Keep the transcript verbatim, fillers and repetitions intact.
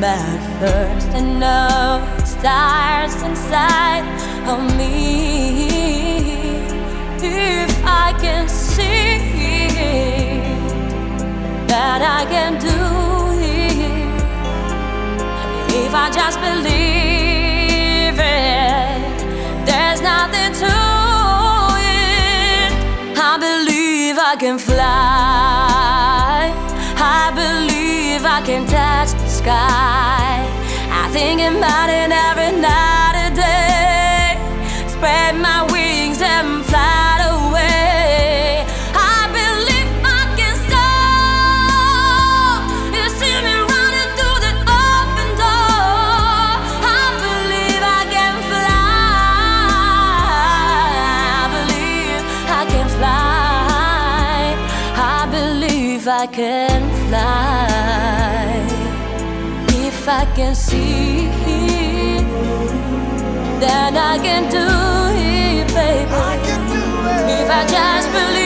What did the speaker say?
at first, and now it starts inside of me. If I can see that I can do it, if I just believe it, there's nothing to it. I believe I can fly, I believe I can touch the sky. I think about it every night and day. Spread my wings and fly away. I believe I can soar. You see me running through the open door. I believe I can fly. I believe I can fly. I believe I can fly. If I can see it, then I can do it, baby. I can do it. If I just believe